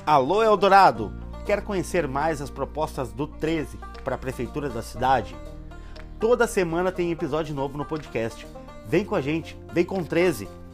Alô Eldorado! Quer conhecer mais as propostas do 13 para a prefeitura da cidade? Toda semana tem episódio novo no podcast. Vem com a gente, vem com 13!